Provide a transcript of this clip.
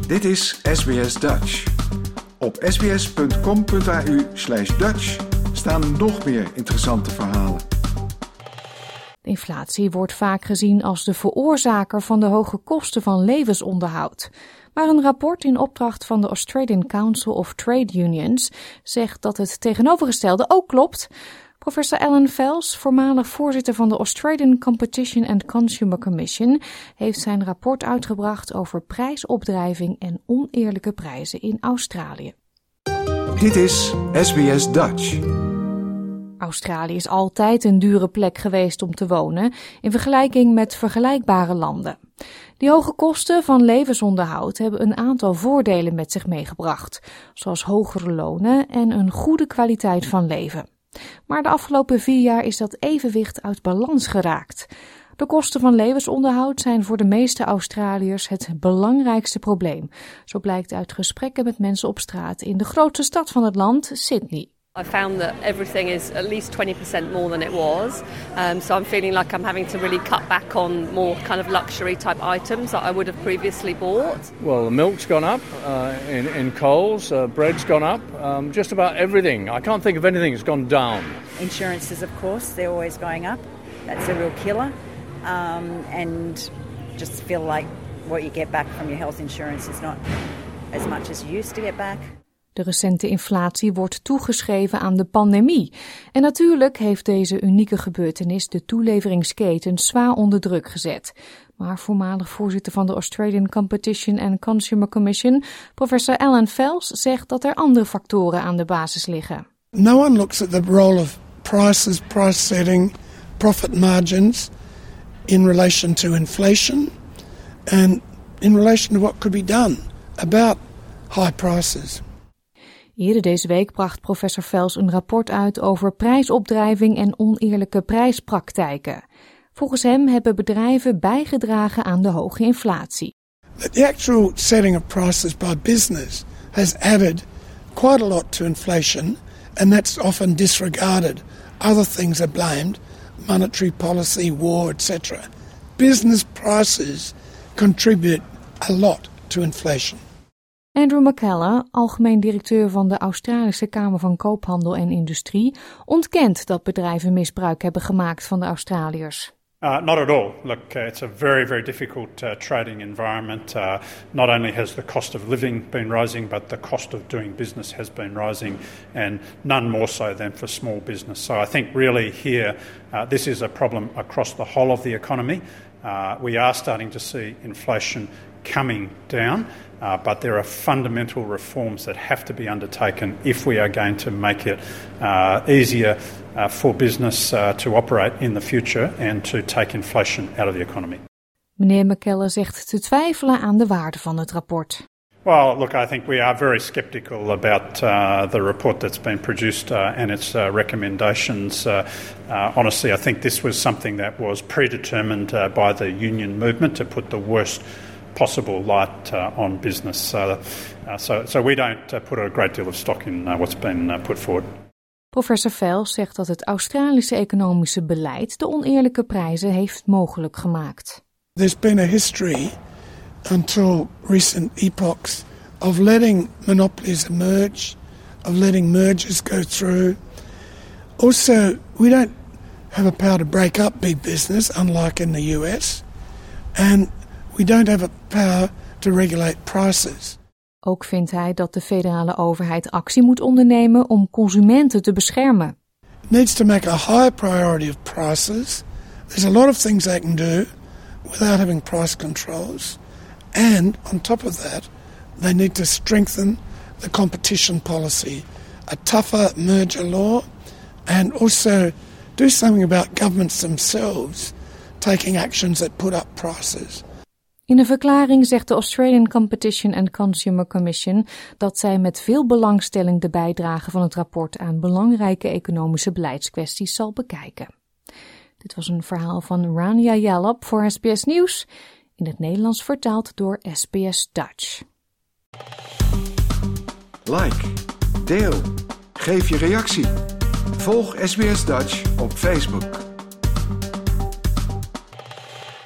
Dit is SBS Dutch. Op sbs.com.au/Dutch staan nog meer interessante verhalen. De inflatie wordt vaak gezien als de veroorzaker van de hoge kosten van levensonderhoud. Maar een rapport in opdracht van de Australian Council of Trade Unions zegt dat het tegenovergestelde ook klopt. Professor Alan Fels, voormalig voorzitter van de Australian Competition and Consumer Commission, heeft zijn rapport uitgebracht over prijsopdrijving en oneerlijke prijzen in Australië. Dit is SBS Dutch. Australië is altijd een dure plek geweest om te wonen in vergelijking met vergelijkbare landen. Die hoge kosten van levensonderhoud hebben een aantal voordelen met zich meegebracht, zoals hogere lonen en een goede kwaliteit van leven. Maar de afgelopen 4 jaar is dat evenwicht uit balans geraakt. De kosten van levensonderhoud zijn voor de meeste Australiërs het belangrijkste probleem. Zo blijkt uit gesprekken met mensen op straat in de grootste stad van het land, Sydney. I found that everything is at least 20% more than it was. So I'm feeling like I'm having to really cut back on more kind of luxury type items that I would have previously bought. Well, the milk's gone up in Coles, bread's gone up, just about everything. I can't think of anything that's gone down. Insurances, of course, they're always going up. That's a real killer. And just feel like what you get back from your health insurance is not as much as you used to get back. De recente inflatie wordt toegeschreven aan de pandemie. En natuurlijk heeft deze unieke gebeurtenis de toeleveringsketens zwaar onder druk gezet. Maar voormalig voorzitter van de Australian Competition and Consumer Commission, professor Alan Fels, zegt dat er andere factoren aan de basis liggen. No one looks at the role of prices, price setting, profit margins in relation to inflation and in relation to what could be done about high prices. Eerder deze week bracht professor Fels een rapport uit over prijsopdrijving en oneerlijke prijspraktijken. Volgens hem hebben bedrijven bijgedragen aan de hoge inflatie. The actual setting of prices by business has added quite a lot to inflation, and that's often disregarded. Other things are blamed, monetary policy, war, etc. Business prices contribute a lot to inflation. Andrew McKellar, algemeen directeur van de Australische Kamer van Koophandel en Industrie, ontkent dat bedrijven misbruik hebben gemaakt van de Australiërs. Not at all. Look, it's a very, very difficult trading environment. Not only has the cost of living been rising, but the cost of doing business has been rising, and none more so than for small business. So I think really here, this is a problem across the whole of the economy. We are starting to see inflation coming down, but there are fundamental reforms that have to be undertaken if we are going to make it easier for business to operate in the future and to take inflation out of the economy. Meneer McKellar zegt te twijfelen aan de waarde van het rapport. Well, look, I think we are very sceptical about the report that's been produced and its recommendations. Honestly, I think this was something that was predetermined by the union movement to put the worst possible light on business. So we don't put a great deal of stock in what's been put forward. Professor Fels zegt dat het Australische economische beleid de oneerlijke prijzen heeft mogelijk gemaakt. There's been a history until recent epochs of letting monopolies emerge, of letting mergers go through. Also, we don't have a power to break up big business, unlike in the US, and we don't have a power to regulate prices. Ook vindt hij dat de federale overheid actie moet ondernemen om consumenten te beschermen. It needs to make a high priority of prices. There's a lot of things they can do without having price controls. And on top of that, they need to strengthen the competition policy, a tougher merger law, and also do something about governments themselves taking actions that put up prices. In een verklaring zegt de Australian Competition and Consumer Commission dat zij met veel belangstelling de bijdrage van het rapport aan belangrijke economische beleidskwesties zal bekijken. Dit was een verhaal van Rania Jalop voor SBS Nieuws, in het Nederlands vertaald door SBS Dutch. Like, deel, geef je reactie. Volg SBS Dutch op Facebook.